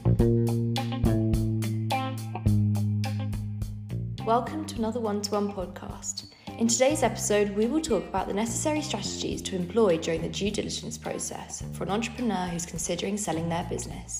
Welcome to another one-to-one podcast. In today's episode, we will talk about the necessary strategies to employ during the due diligence process for an entrepreneur who's considering selling their business.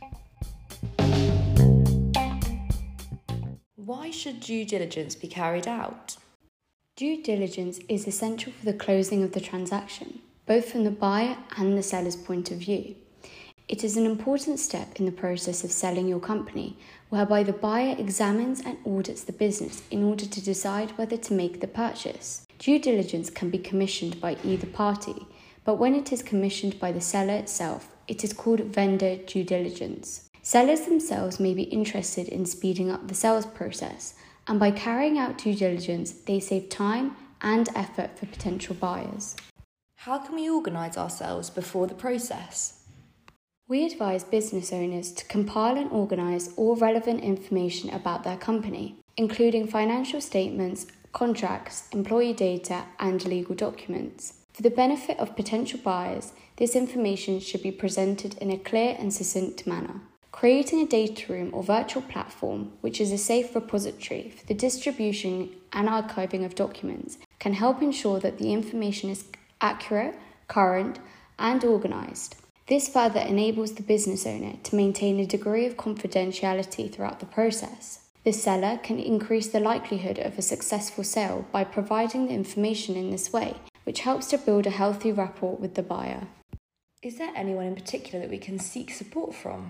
Why should due diligence be carried out? Due diligence is essential for the closing of the transaction, both from the buyer and the seller's point of view. It is an important step in the process of selling your company, whereby the buyer examines and audits the business in order to decide whether to make the purchase. Due diligence can be commissioned by either party, but when it is commissioned by the seller itself, it is called vendor due diligence. Sellers themselves may be interested in speeding up the sales process, and by carrying out due diligence, they save time and effort for potential buyers. How can we organise ourselves before the process? We advise business owners to compile and organise all relevant information about their company, including financial statements, contracts, employee data, and legal documents. For the benefit of potential buyers, this information should be presented in a clear and succinct manner. Creating a data room or virtual platform, which is a safe repository for the distribution and archiving of documents, can help ensure that the information is accurate, current, and organised. This further enables the business owner to maintain a degree of confidentiality throughout the process. The seller can increase the likelihood of a successful sale by providing the information in this way, which helps to build a healthy rapport with the buyer. Is there anyone in particular that we can seek support from?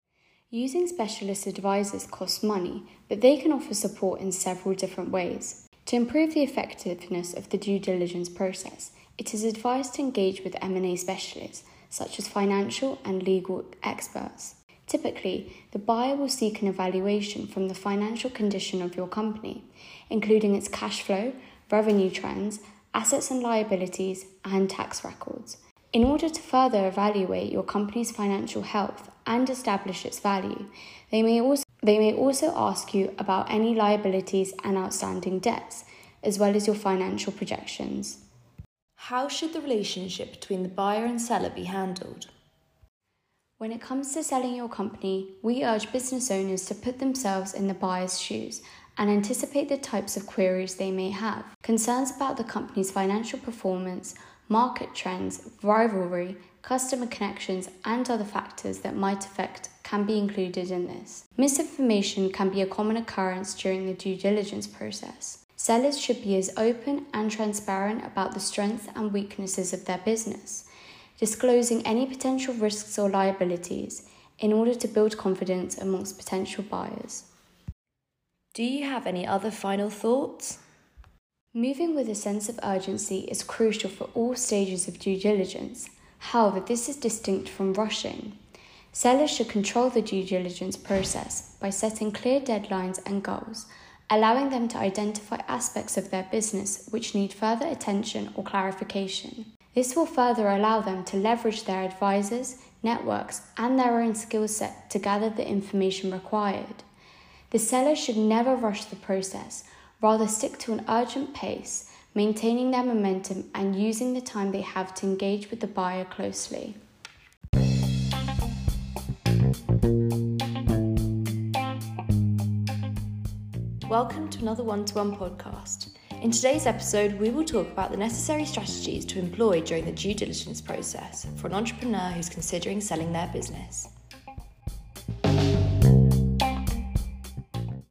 Using specialist advisors costs money, but they can offer support in several different ways. To improve the effectiveness of the due diligence process, it is advised to engage with M&A specialists, such as financial and legal experts. Typically, the buyer will seek an evaluation from the financial condition of your company, including its cash flow, revenue trends, assets and liabilities, and tax records. In order to further evaluate your company's financial health and establish its value, they may also ask you about any liabilities and outstanding debts, as well as your financial projections. How should the relationship between the buyer and seller be handled? When it comes to selling your company, we urge business owners to put themselves in the buyer's shoes and anticipate the types of queries they may have. Concerns about the company's financial performance, market trends, rivalry, customer connections, and other factors that might affect can be included in this. Misinformation can be a common occurrence during the due diligence process. Sellers should be as open and transparent about the strengths and weaknesses of their business, disclosing any potential risks or liabilities in order to build confidence amongst potential buyers. Do you have any other final thoughts? Moving with a sense of urgency is crucial for all stages of due diligence. However, this is distinct from rushing. Sellers should control the due diligence process by setting clear deadlines and goals, allowing them to identify aspects of their business which need further attention or clarification. This will further allow them to leverage their advisors, networks, and their own skill set to gather the information required. The seller should never rush the process, rather stick to an urgent pace, maintaining their momentum and using the time they have to engage with the buyer closely. Welcome to another one-to-one podcast. In today's episode, we will talk about the necessary strategies to employ during the due diligence process for an entrepreneur who's considering selling their business.